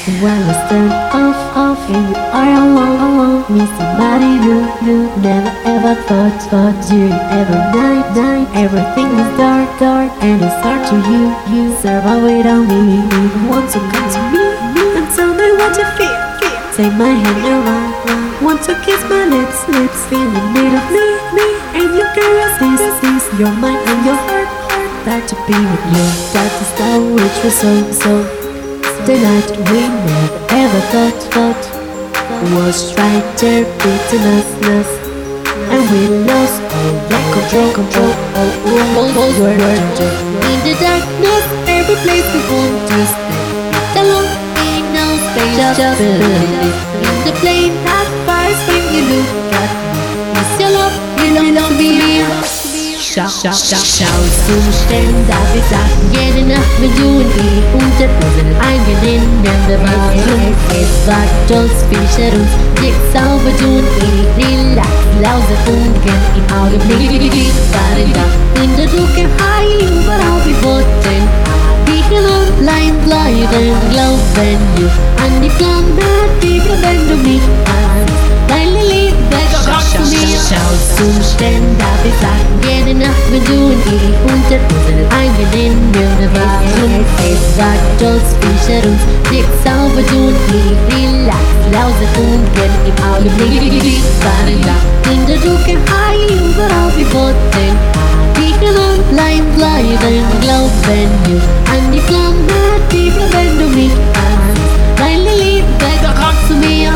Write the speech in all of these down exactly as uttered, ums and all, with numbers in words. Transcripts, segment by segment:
When it's turned off, off, and you are alone, alone with somebody new, new. Never ever thought, thought you'd ever night, night. Everything is dark, dark, and it's hard to you, you. Serve away on me, me. Want to come to me, me, and tell me what you feel, feel. Take my hand around, round. Want to kiss my lips, lips. Feel the need of me, me, and you can resist, resist. Your mind and your heart, heart. Back to be with you. That is the which was so, so. The night we never ever thought, thought was right there beating us, us. And we lost all that control, control. Oh, oh, oh, oh, we're in the darkness, every place we want to stay. Alone, ain't no space, just, just believe. In the flame that fires when you look at me. It's your love, you love to be. Schau, schau, schau, schau zum Stellen, da wir sagen, jede Nacht mit du und ich unter unseren eigenen Beweisen. Es wagt uns, fischer uns, jetzt sauber du und ich, relax, lauser Funken im Augenblick. Fahren da in der Dunkelheit, überall wir wollten. Wir können allein bleiben, glauben you an die Flamme, die wenn du mich ansiehst. Deine Liebe kommt zu mir. Schau zum Stellen, da wir sagen, jede Nacht mit du und ich unter unseren eigenen Beweisen. Es sagt uns, fischer uns, jetzt sauber du und ich, relax, lauser Funken im Augenblick. Fahren da in der Dunkelheit, überall wir wollten. Wir können allein bleiben, glauben you an die Flamme, die wenn du mich ansiehst. Deine Liebe kommt zu mir.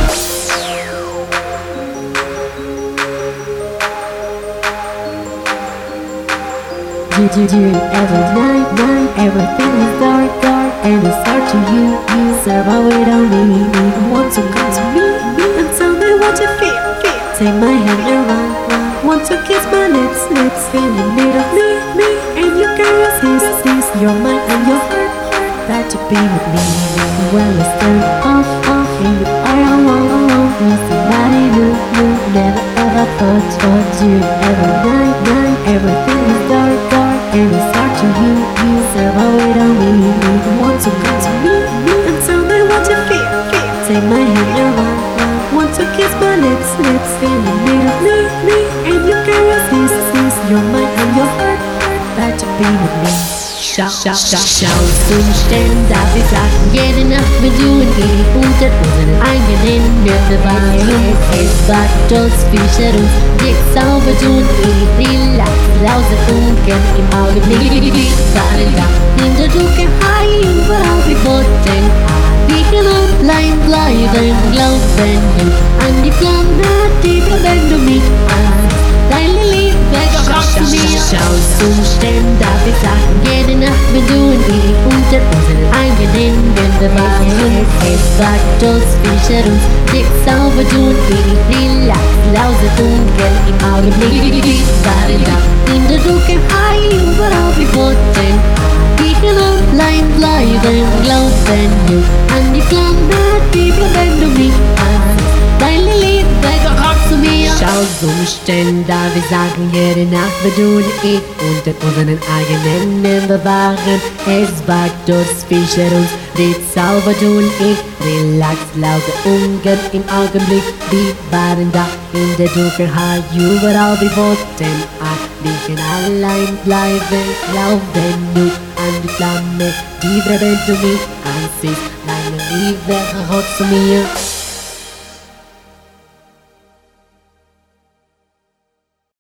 Did you, do you ever night, night? Everything is dark, dark, and it's hard to you, you. Serve away on me, me. Want to come to me, me, and tell me what you feel, feel. Take my hand around, round. Want to kiss my lips, lips. Feel the need of me, me, and you can resist, resist. Your mind and your heart, heart. That to be with me. Well, it's turned off, off, and you are alone, alone with somebody new, new. Never ever thought, thought you'd ever night, night. Everything is dark, dark. And it's hard to you, you. Serve away on me, me. Want to come to me, me, and tell me what you feel, feel. Take my hand around, round. Want to kiss my lips, lips. Feel the need of me, me, and you can resist, resist. Your mind and your heart, heart. Back to be with me. Schau, schau, schau, schau zum Stellen, da wir sagen, jede Nacht mit du und ich unter unseren eigenen Beweisen. Es wagt uns, fischer uns, jetzt sauber du und ich, relax, lauser Funken im Augenblick. Fahren da in der Dunkelheit, überall wir wollten. Wir können allein bleiben, glauben you an die Flamme, die wenn du mich ansiehst. Deine Liebe kommt zu mir. Schau zum Stellen, da wir sagen, jede Nacht mit du und ich unter unseren eigenen Beweisen. Es wagt uns, fischer uns, jetzt sauber du und ich, relax, lauser Funken im Augenblick. Fahren da in der Dunkelheit, überall wir wollten. Wir können allein bleiben, glauben you an die Flamme, die wenn du mich ansiehst. Deine Liebe kommt zu mir. Schau zum Stellen, da wir sagen, jede Nacht wir du und ich unter unseren eigenen bewahren. Es wagt uns, fischer uns, die sauber du und ich, relax, lauter Ungarn im Augenblick. Wir waren da in der Dunkelheit, überall wir wollten. Ach, wir können allein bleiben, glauben nur an die Flamme, die wenn du mich ansiehst. Deine Liebe kommt zu mir.